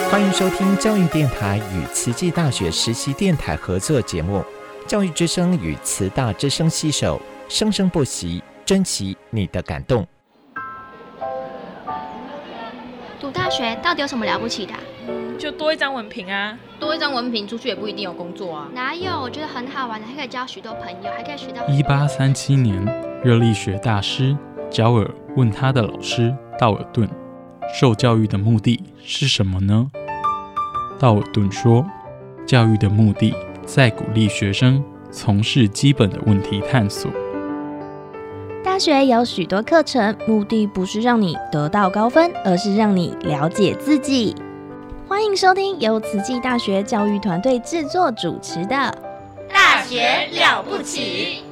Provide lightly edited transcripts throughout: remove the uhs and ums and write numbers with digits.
欢迎收听教育电台与慈济大学实习电台合作节目《教育之声》与慈大之声携手，生生不息，珍惜你的感动。 读大学到底有什么了不起的就多一张文凭啊。 多一张文凭出去也不一定有工作啊。 哪有？我觉得很好玩的，还可以交许多朋友，还可以学到。 1837年，热力学大师焦耳问他的老师道尔顿，受教育的目的是什么呢？道尔顿说，教育的目的在鼓励学生从事基本的问题探索。 大学有许多课程，目的不是让你得到高分，而是让你了解自己。欢迎收听由慈济大学教育团队制作主持的《 大学了不起》。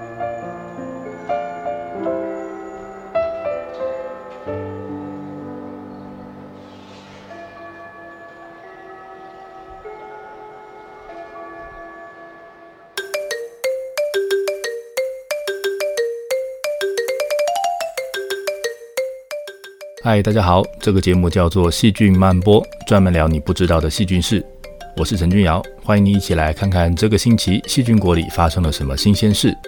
嗨，大家好，这个节目叫做细菌漫播，专门聊你不知道的细菌事。我是陈君尧，欢迎你一起来看看这个星期细菌国里发生了什么新鲜事。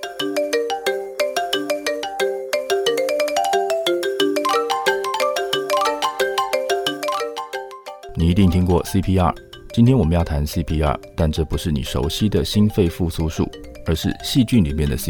你一定听过 CPR， 今天我们要谈 CPR， 但这不是你熟悉的心肺复苏术，而是细菌里面的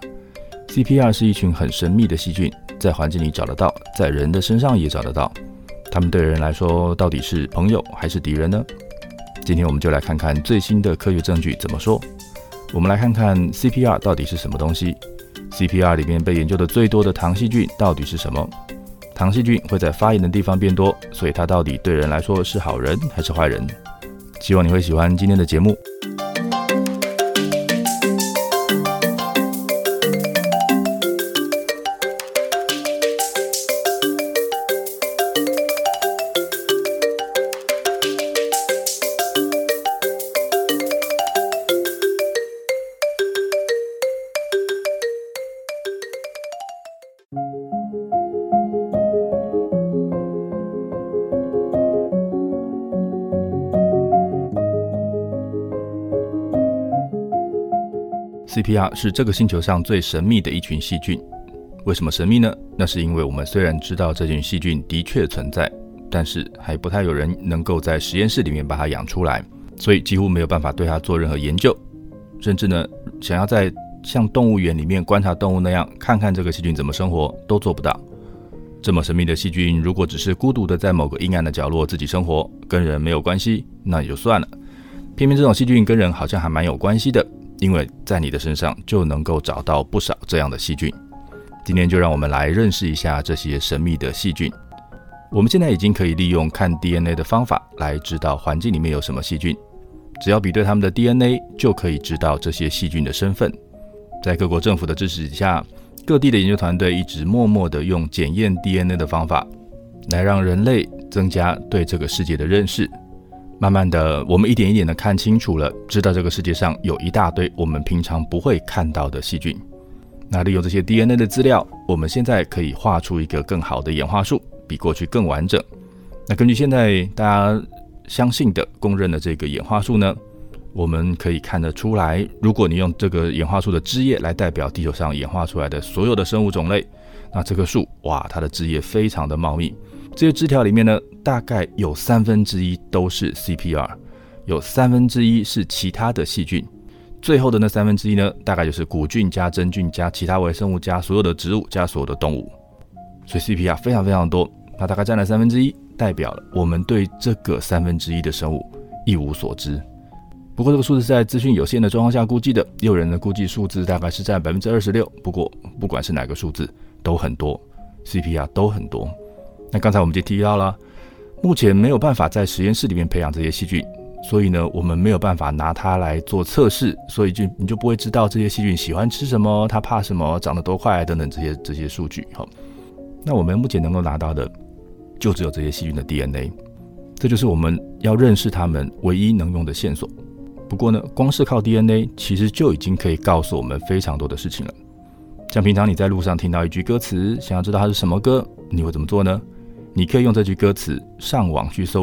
CPR。CPR 是一群很神秘的细菌，在环境里找得到，在人的身上也找得到。他们对人来说到底是朋友还是敌人呢？今天我们就来看看最新的科学证据怎么说。我们来看看 CPR 到底是什么东西。CPR 里面被研究的最多的糖细菌到底是什么？糖细菌会在发炎的地方变多，所以它到底对人来说是好人还是坏人？希望你会喜欢今天的节目。CPR 是这个星球上最神秘的一群细菌。为什么神秘呢？那是因为我们虽然知道这群细菌的确存在，但是还不太有人能够在实验室里面把它养出来，所以几乎没有办法对它做任何研究。甚至呢，想要在像动物园里面观察动物那样看看这个细菌怎么生活，都做不到。这么神秘的细菌，如果只是孤独的在某个阴暗的角落自己生活，跟人没有关系，那也就算了。偏偏这种细菌跟人好像还蛮有关系的，因为在你的身上就能够找到不少这样的细菌。今天就让我们来认识一下这些神秘的细菌。我们现在已经可以利用看 DNA 的方法来知道环境里面有什么细菌，只要比对他们的 DNA 就可以知道这些细菌的身份。在各国政府的支持下，各地的研究团队一直默默地用检验 DNA 的方法来让人类增加对这个世界的认识。慢慢的，我们一点一点的看清楚了，知道这个世界上有一大堆我们平常不会看到的细菌。那利用这些 DNA 的资料，我们现在可以画出一个更好的演化树，比过去更完整。那根据现在大家相信的、公认的这个演化树呢，我们可以看得出来，如果你用这个演化树的枝叶来代表地球上演化出来的所有的生物种类，那这棵树，哇，它的枝叶非常的茂密。这些枝条里面呢，大概有1/3都是 CPR， 有1/3是其他的细菌，最后的那1/3呢，大概就是古菌加真菌加其他微生物加所有的植物加所有的动物。所以 CPR 非常非常多，它大概占了1/3，代表了我们对这个1/3的生物一无所知。不过这个数字是在资讯有限的状况下估计的，也有人的估计数字大概是占 26%， 不过不管是哪个数字都很多， CPR 都很多。那刚才我们就提到了，目前没有办法在实验室里面培养这些细菌，所以呢，我们没有办法拿它来做测试，所以你就不会知道这些细菌喜欢吃什么，它怕什么，长得多快等等这些数据。那我们目前能够拿到的就只有这些细菌的 DNA， 这就是我们要认识它们唯一能用的线索。不过呢，光是靠 DNA 其实就已经可以告诉我们非常多的事情了。像平常你在路上听到一句歌词，想要知道它是什么歌，你会怎么做呢？你可以用这句歌词上网去搜寻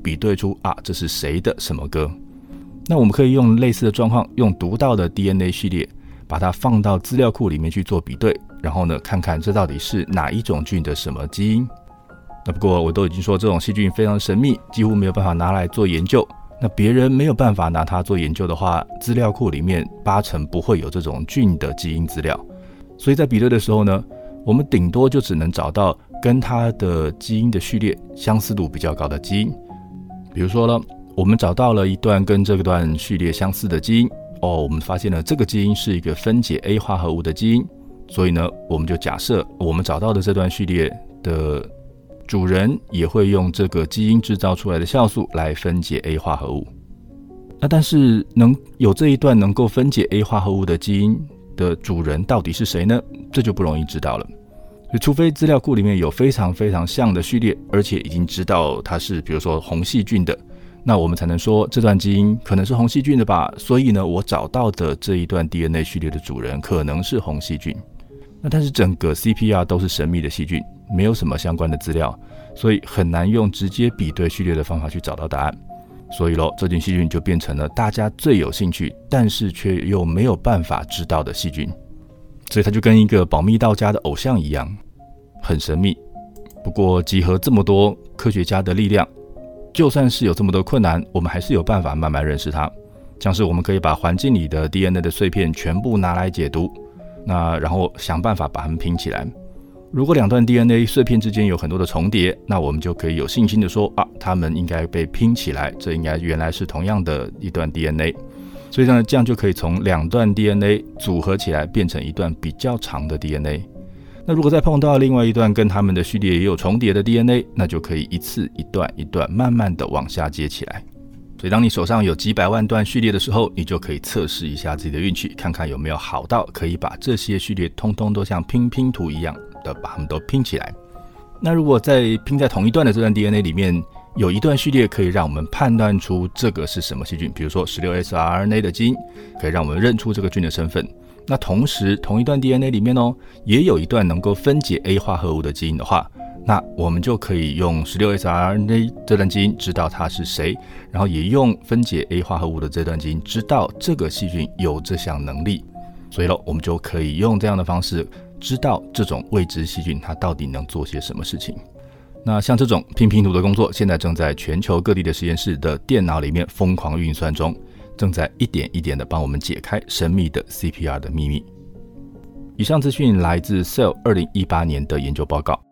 比对出这是谁的什么歌。那我们可以用类似的状况，用读到的 DNA 序列把它放到资料库里面去做比对，然后呢看看这到底是哪一种菌的什么基因。那不过我都已经说这种细菌非常神秘，几乎没有办法拿来做研究。那别人没有办法拿它做研究的话，资料库里面80%不会有这种菌的基因资料。所以在比对的时候呢，我们顶多就只能找到跟它的基因的序列相似度比较高的基因。比如说呢，我们找到了一段跟这段序列相似的基因，我们发现了这个基因是一个分解 A 化合物的基因，所以呢，我们就假设我们找到的这段序列的主人也会用这个基因制造出来的酵素来分解 A 化合物。那但是有这一段能够分解 A 化合物的基因的主人到底是谁呢？这就不容易知道了。除非资料库里面有非常非常像的序列，而且已经知道它是比如说红细菌的，那我们才能说这段基因可能是红细菌的吧，所以呢，我找到的这一段 DNA 序列的主人可能是红细菌。那但是整个 CPR 都是神秘的细菌，没有什么相关的资料，所以很难用直接比对序列的方法去找到答案。所以这菌细菌就变成了大家最有兴趣，但是却又没有办法知道的细菌。所以它就跟一个保密到家的偶像一样，很神秘。不过集合这么多科学家的力量，就算是有这么多困难，我们还是有办法慢慢认识它。像是我们可以把环境里的 DNA 的碎片全部拿来解读，然后想办法把它们拼起来。如果两段 DNA 碎片之间有很多的重叠，那我们就可以有信心的说它们应该被拼起来，这应该原来是同样的一段 DNA。所以呢，这样就可以从两段 DNA 组合起来变成一段比较长的 DNA。那如果再碰到另外一段跟它们的序列也有重叠的 DNA， 那就可以一次一段一段慢慢的往下接起来。所以当你手上有几百万段序列的时候，你就可以测试一下自己的运气，看看有没有好到可以把这些序列通通都像拼图一样的把它们都拼起来。那如果在拼在同一段的这段 DNA 里面有一段序列可以让我们判断出这个是什么细菌，比如说 16S-RNA 的基因可以让我们认出这个菌的身份。那同时同一段 DNA 里面也有一段能够分解 A 化合物的基因的话，那我们就可以用 16S-RNA 这段基因知道它是谁，然后也用分解 A 化合物的这段基因知道这个细菌有这项能力。所以我们就可以用这样的方式知道这种未知细菌它到底能做些什么事情。那像这种拼图的工作，现在正在全球各地的实验室的电脑里面疯狂运算中，正在一点一点的帮我们解开神秘的 CPR 的秘密。以上资讯来自 Cell 2018年的研究报告。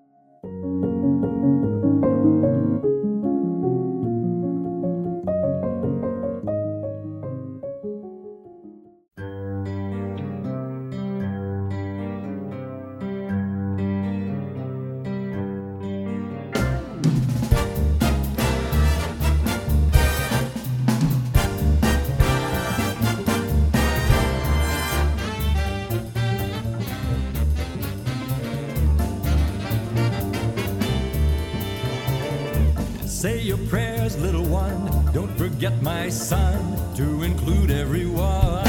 Say your prayers, little one. Don't forget, my son, to include everyone.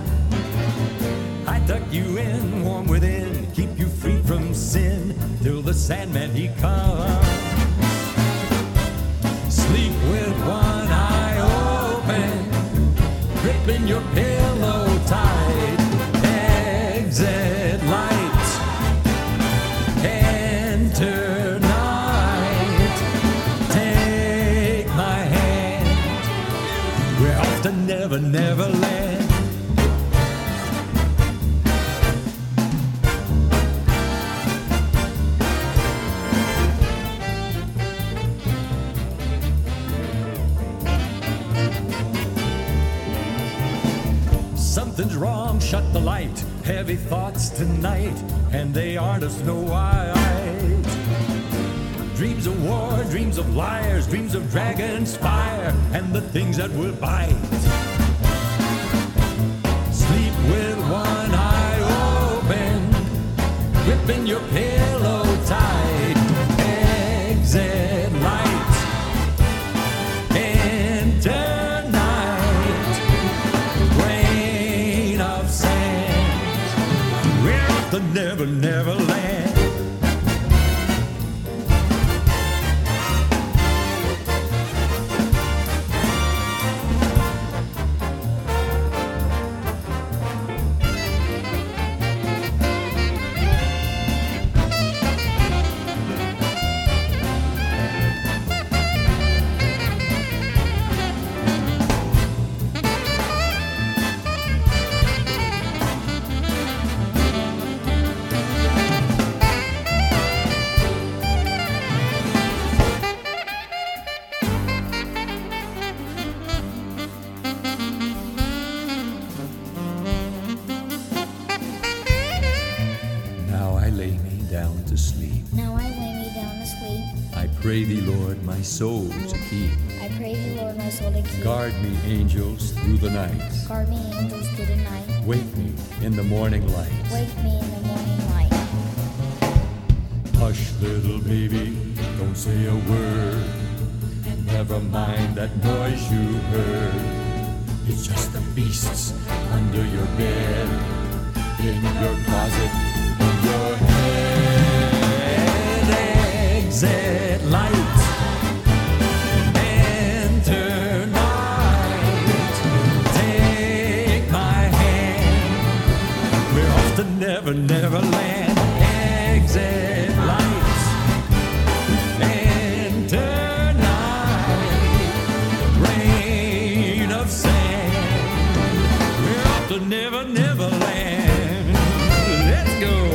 I tuck you in, warm within, keep you free from sin, till the Sandman he comes. Sleep with one eye open, gripping your pillow tight. Exit light, enter. Never, never land. Something's wrong, shut the light. Heavy thoughts tonight, and they aren't of Snow White. Dreams of war, dreams of liars, dreams of dragon's fire, and the things that will bite. Sleep with one eye open, gripping your pillow tight. Exit light, enter night. Grain of sand, we're off to Never, Never Land. pray thee, Lord, my soul to keep. I pray thee, Lord, my soul to keep. Guard me, angels, through the night. Guard me, angels, through the night. Wake me in the morning light. Wake me in the morning light. Hush, little baby, don't say a word. Never mind that noise you heard. It's just the beasts under your bed, in your closet, in your head. Exit light, enter night. Take my hand, we're off to Never, Never Land. Exit light, enter night. Rain of sand, we're off to Never, Never Land. Let's go.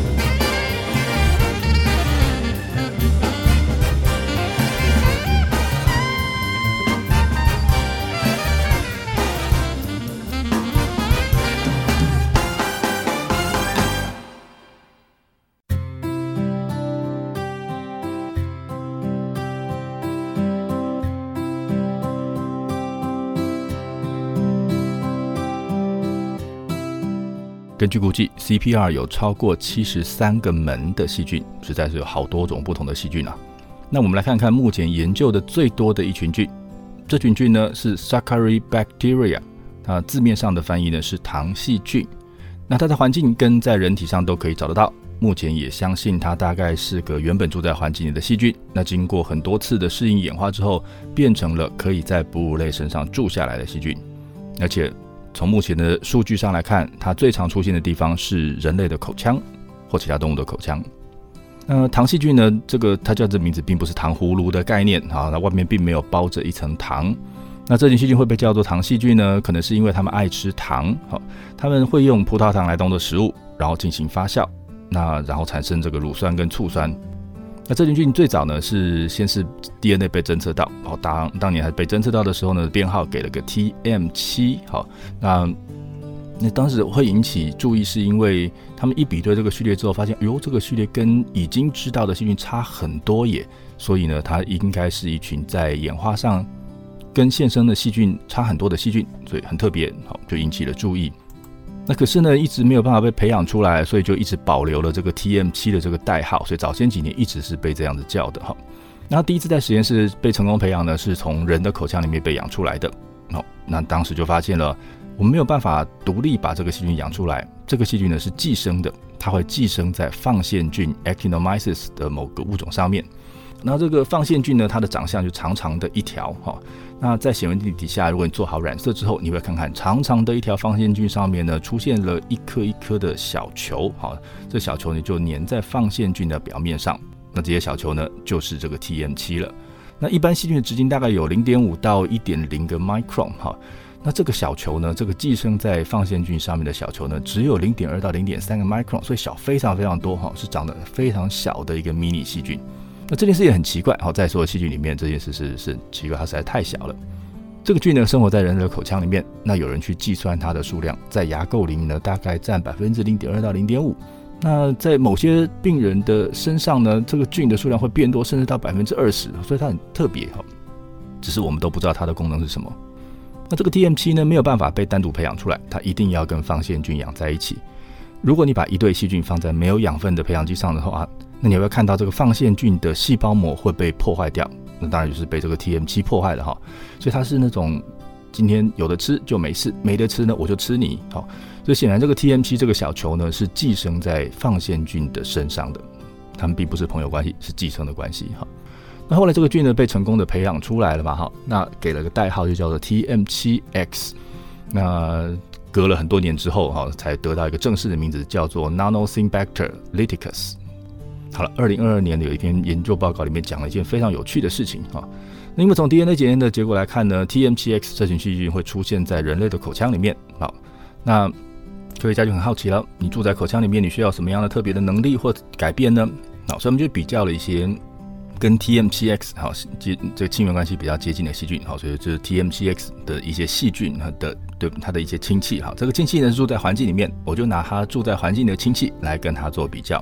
根据估计 CPR 有超过73个门的细菌，实在是有好多种不同的细菌啊。那我们来看看目前研究的最多的一群菌，这群菌呢是 Saccharibacteria， 它字面上的翻译呢是糖细菌。那它在环境跟在人体上都可以找得到，目前也相信它大概是个原本住在环境里的细菌，那经过很多次的适应演化之后，变成了可以在哺乳类身上住下来的细菌。而且从目前的数据上来看，它最常出现的地方是人类的口腔或其他动物的口腔。糖细菌呢，它叫这名字并不是糖葫芦的概念，那外面并没有包着一层糖。那这群细菌会被叫做糖细菌呢，可能是因为它们爱吃糖，它们会用葡萄糖来当做食物，然后进行发酵，然后产生这个乳酸跟醋酸。那这群菌最早呢是先是 DNA 被侦测到，当年还被侦测到的时候呢，编号给了个 TM7， 那当时会引起注意，是因为他们一比对这个序列之后，发现这个序列跟已经知道的细菌差很多耶，所以呢，它应该是一群在演化上跟现生的细菌差很多的细菌，所以很特别，就引起了注意。那可是呢，一直没有办法被培养出来，所以就一直保留了这个 TM7 的这个代号，所以早先几年一直是被这样子叫的。然后第一次在实验室被成功培养呢，是从人的口腔里面被养出来的。那当时就发现了，我们没有办法独立把这个细菌养出来，这个细菌呢是寄生的，它会寄生在放线菌 Actinomyces 的某个物种上面。那这个放线菌呢，它的长相就长长的一条，那在显微镜底下，如果你做好染色之后，你会看看长长的一条放线菌上面呢，出现了一颗一颗的小球，这小球呢就粘在放线菌的表面上，那这些小球呢就是这个 TM7 了。那一般细菌的直径大概有 0.5 到 1.0 个 micron， 那这个小球呢，这个寄生在放线菌上面的小球呢，只有 0.2 到 0.3 个 micron， 所以小非常非常多，是长得非常小的一个迷你细菌。那这件事也很奇怪，在所有细菌里面，这件事是奇怪，它实在太小了。这个菌呢，生活在人类的口腔里面，那有人去计算它的数量，在牙垢里面呢，大概占 0.2 到 0.5。那在某些病人的身上呢，这个菌的数量会变多，甚至到 20%， 所以它很特别，只是我们都不知道它的功能是什么。那这个 TM7 呢，没有办法被单独培养出来，它一定要跟放线菌养在一起。如果你把一对细菌放在没有养分的培养基上的话，那你会看到这个放线菌的细胞膜会被破坏掉，那当然就是被这个 TM7 破坏了，所以它是那种今天有的吃就没事，没得吃呢我就吃你，所以显然这个 TM7 这个小球呢是寄生在放线菌的身上的，它们并不是朋友关系，是寄生的关系。那后来这个菌呢被成功的培养出来了嘛，那给了个代号就叫做 TM7X， 那隔了很多年之后才得到一个正式的名字，叫做 Nanosymbacter liticus。好了，2022年有一篇研究报告里面讲了一件非常有趣的事情那因为从 DNA 检验的结果来看呢， TM7X 这群细菌会出现在人类的口腔里面。那科学家就很好奇了，你住在口腔里面，你需要什么样的特别的能力或改变呢？所以我们就比较了一些跟 TM7X 这个亲缘关系比较接近的细菌，所以就是 TM7X 的一些细菌它的一些亲戚。这个亲戚呢住在环境里面，我就拿它住在环境的亲戚来跟它做比较。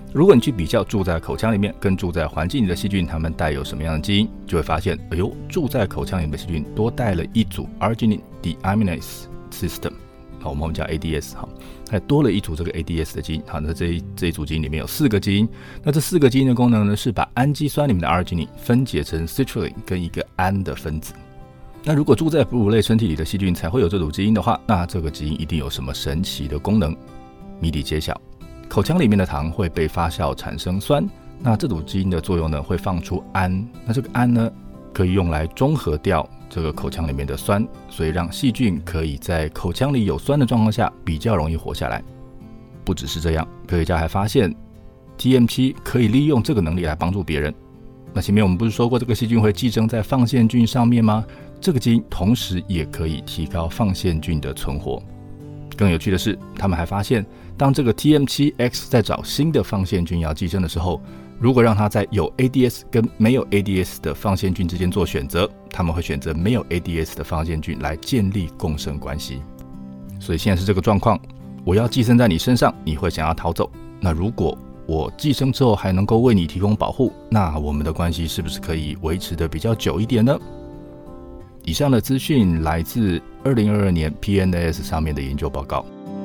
如果你去比较住在口腔里面跟住在环境里的细菌，它们带有什么样的基因，就会发现，住在口腔里面的细菌多带了一组 Arginine Deaminase System， 我们叫 ADS， 还多了一组这个 ADS 的基因。好，那这一组基因里面有4个基因，那这4个基因的功能呢，是把氨基酸里面的 Arginine 分解成 Citrulline 跟一个氨的分子。那如果住在哺乳类身体里的细菌才会有这组基因的话，那这个基因一定有什么神奇的功能？谜底揭晓。口腔里面的糖会被发酵产生酸，那这组基因的作用呢，会放出氨，那这个氨呢，可以用来中和掉这个口腔里面的酸，所以让细菌可以在口腔里有酸的状况下比较容易活下来。不只是这样，科学家还发现 TM7 可以利用这个能力来帮助别人。那前面我们不是说过这个细菌会寄生在放线菌上面吗？这个基因同时也可以提高放线菌的存活。更有趣的是，他们还发现，当这个 TM7X 在找新的放线菌要寄生的时候，如果让它在有 ADS 跟没有 ADS 的放线菌之间做选择，他们会选择没有 ADS 的放线菌来建立共生关系。所以现在是这个状况，我要寄生在你身上，你会想要逃走。那如果我寄生之后还能够为你提供保护，那我们的关系是不是可以维持得比较久一点呢？以上的资讯来自2022年 PNAS 上面的研究报告。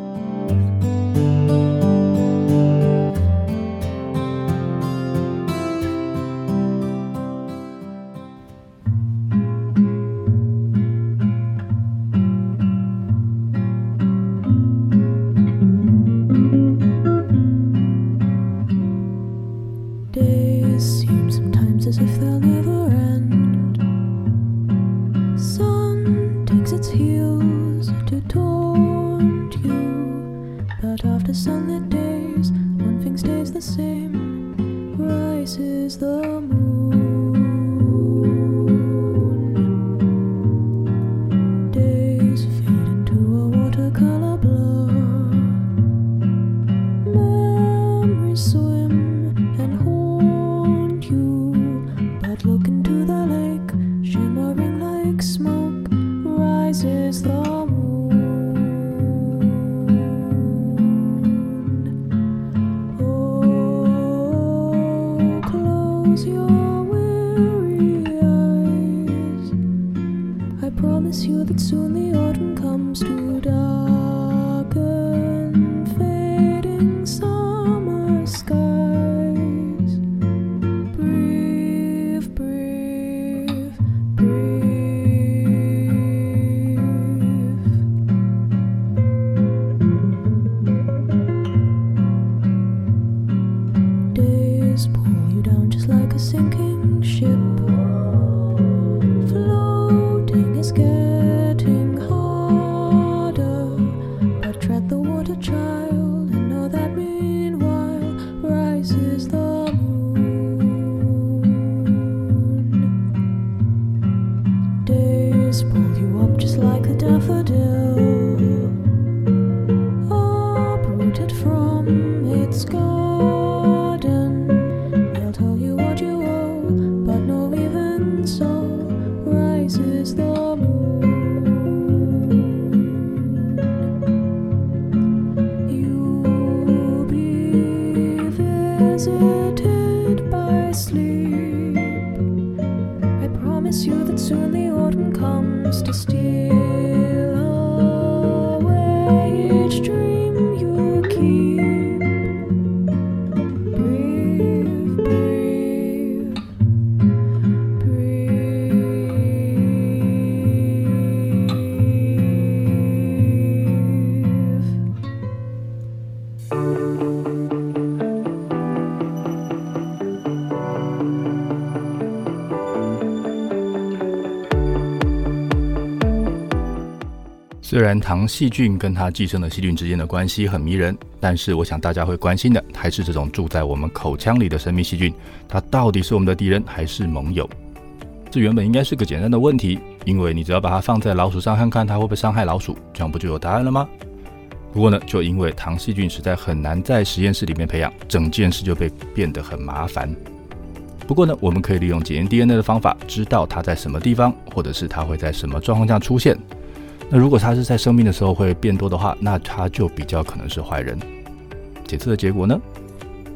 虽然糖细菌跟它寄生的细菌之间的关系很迷人，但是我想大家会关心的还是这种住在我们口腔里的神秘细菌，它到底是我们的敌人还是盟友？这原本应该是个简单的问题，因为你只要把它放在老鼠上看看它会不会伤害老鼠，这样不就有答案了吗？不过呢，就因为糖细菌实在很难在实验室里面培养，整件事就变得很麻烦。不过呢，我们可以利用检验 DNA 的方法，知道它在什么地方，或者是它会在什么状况下出现。那如果它是在生病的时候会变多的话，那它就比较可能是坏人。检测的结果呢，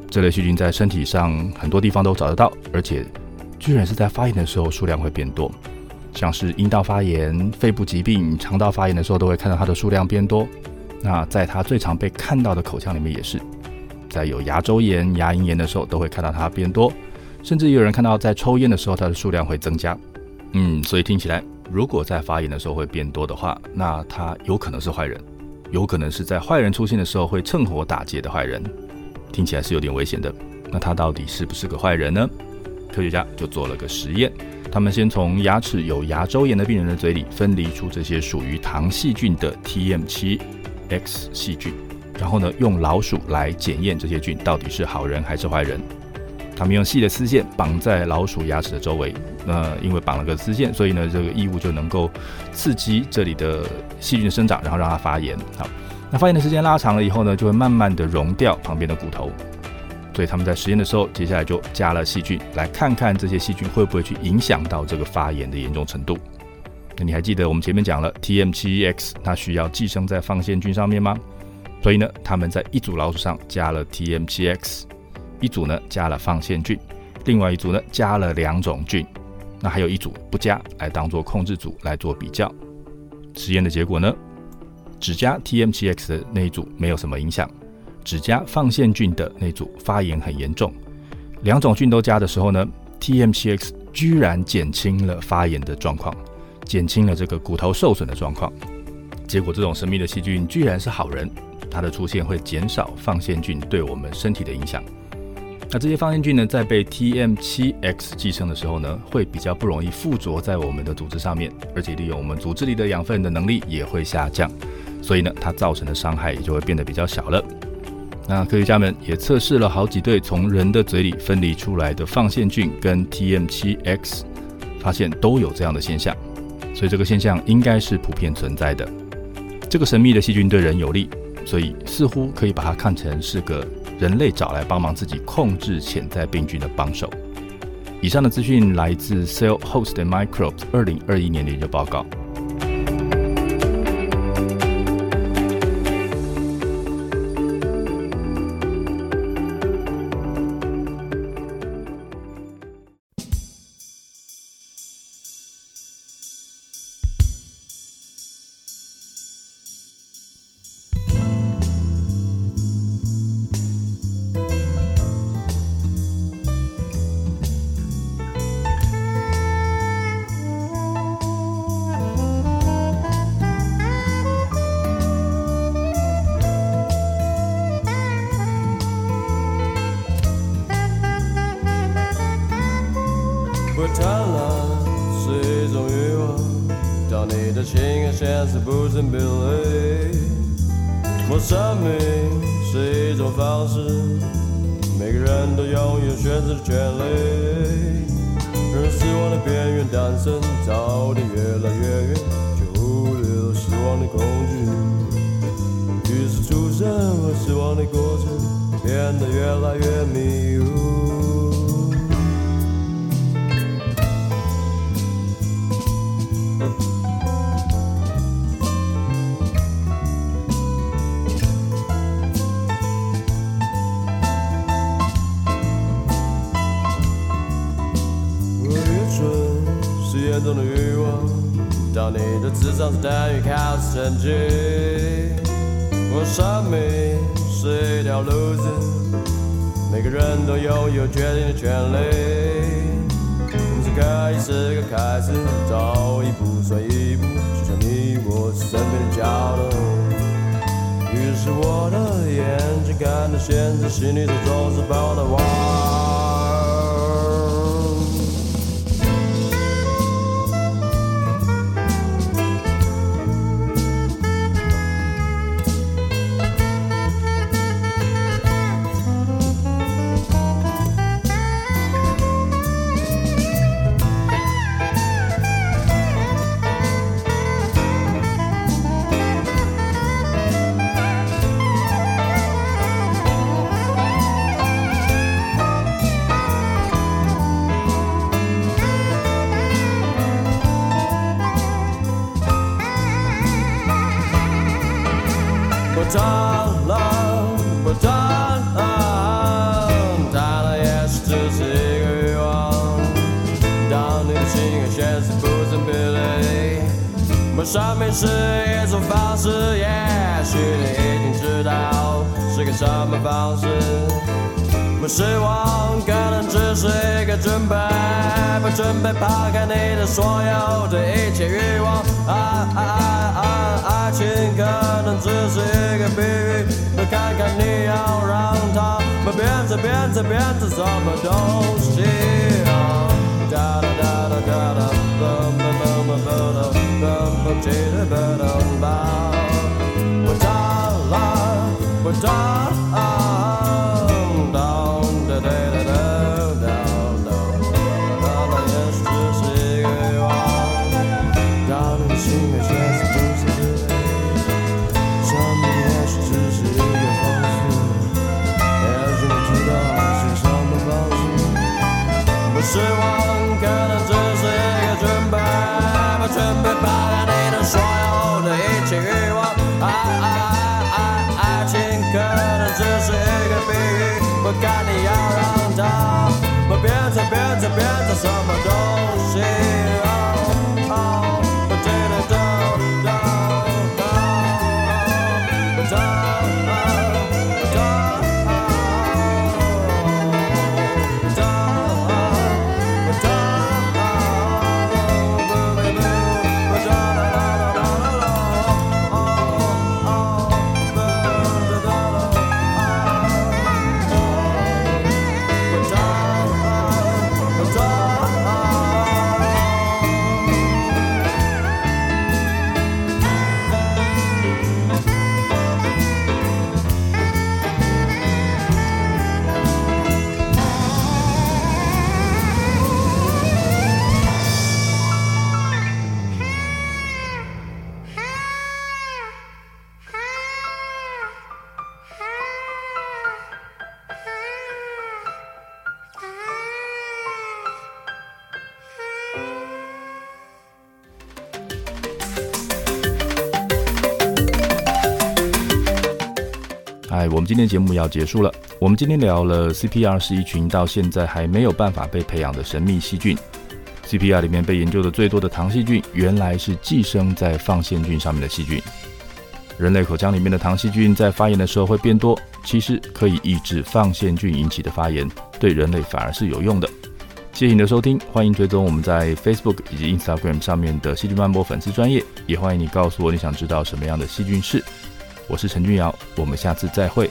这类细菌在身体上很多地方都找得到，而且居然是在发炎的时候数量会变多，像是阴道发炎、肺部疾病、肠道发炎的时候都会看到它的数量变多。那在它最常被看到的口腔里面也是，在有牙周炎、牙龈炎的时候都会看到它变多，甚至也有人看到在抽烟的时候它的数量会增加。所以听起来如果在发炎的时候会变多的话，那它有可能是坏人，有可能是在坏人出现的时候会趁火打劫的坏人，听起来是有点危险的。那他到底是不是个坏人呢？科学家就做了个实验，他们先从牙齿有牙周炎的病人的嘴里分离出这些属于糖细菌的 TM7X 细菌，然后呢，用老鼠来检验这些菌到底是好人还是坏人。他们用细的丝线绑在老鼠牙齿的周围，因为绑了个丝线，所以呢，这个异物就能够刺激这里的细菌的生长，然后让它发炎。好，那发炎的时间拉长了以后呢，就会慢慢的溶掉旁边的骨头。所以他们在实验的时候，接下来就加了细菌，来看看这些细菌会不会去影响到这个发炎的严重程度。那你还记得我们前面讲了 TM7X 它需要寄生在放线菌上面吗？所以呢，他们在一组老鼠上加了 TM7X， 一组呢加了放线菌，另外一组呢加了2种菌，那还有一组不加，来当做控制组来做比较。实验的结果呢，只加 TM7X 的那一组没有什么影响，只加放线菌的那组发炎很严重。2种菌都加的时候呢， TM7X 居然减轻了发炎的状况，减轻了这个骨头受损的状况。结果这种神秘的细菌居然是好人，它的出现会减少放线菌对我们身体的影响。那这些放线菌呢，在被 TM7X 寄生的时候呢，会比较不容易附着在我们的组织上面，而且利用我们组织里的养分的能力也会下降，所以呢，它造成的伤害也就会变得比较小了。那科学家们也测试了好几对从人的嘴里分离出来的放线菌跟 TM7X， 发现都有这样的现象，所以这个现象应该是普遍存在的。这个神秘的细菌对人有利，所以似乎可以把它看成是个人类找来帮忙自己控制潜在病菌的帮手。以上的资讯来自 Cell Host and Microbes 2021年的研究报告。 不贪婪是一种欲望，当你的情感现实不成比例。我生命是一种方式，每个人都拥有选择的权利。人死亡的边缘诞生，早点越来越远，却忽略了死亡的恐惧。于是出生和死亡的过程变得越来越迷雾。严重的欲望，当你的智商是等于考试成绩。我生命是一条路子，每个人都拥有决定的权利。人生可以是个开始，走一步算一步，就像你我身边的角落。于是我的眼睛看到现在，心里头总是抱着我。不贪婪，不贪婪， 和现实不成比例。我生命是一种方式，也许你已经知道是个什么方式。我希望可能只是一个准备，不准备抛开你的所有的一切欲望。爱情可能只是一个比喻，我看看你要让它变成什么东西。哒哒哒哒哒哒，嘣嘣嘣嘣嘣嘣嘣嘣，记得嘣嘣嘣。我到了，我到了。希望可能只是一个准备，不准备抛开你的所有的一切欲望。爱情可能只是一个比喻，我看你要让它变成什么东西。 我们今天节目要结束了。我们今天聊了 CPR 是一群到现在还没有办法被培养的神秘细菌。CPR 里面被研究的最多的糖细菌，原来是寄生在放线菌上面的细菌。人类口腔里面的糖细菌在发炎的时候会变多，其实可以抑制放线菌引起的发炎，对人类反而是有用的。谢谢你的收听，欢迎追踪我们在 Facebook 以及 Instagram 上面的细菌漫播粉丝专页，也欢迎你告诉我你想知道什么样的细菌是。我是陈君尧，我们下次再会。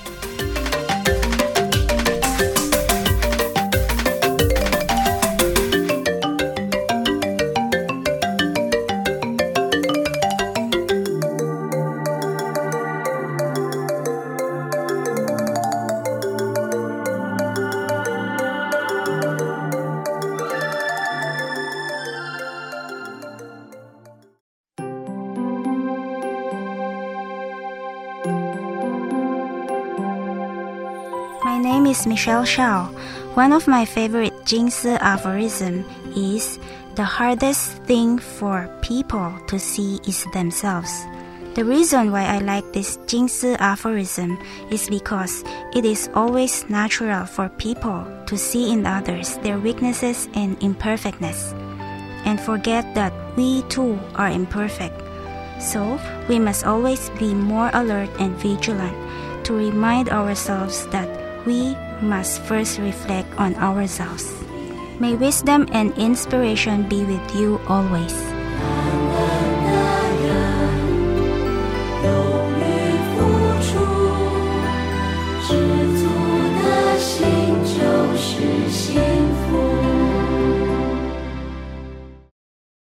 My name is Michelle Shao. One of my favorite Jingsi aphorism is, the hardest thing for people to see is themselves. The reason why I like this Jingsi aphorism is because it is always natural for people to see in others their weaknesses and imperfectness, and forget that we too are imperfect. So we must always be more alert and vigilant to remind ourselves that we must first reflect on ourselves. May wisdom and inspiration be with you always.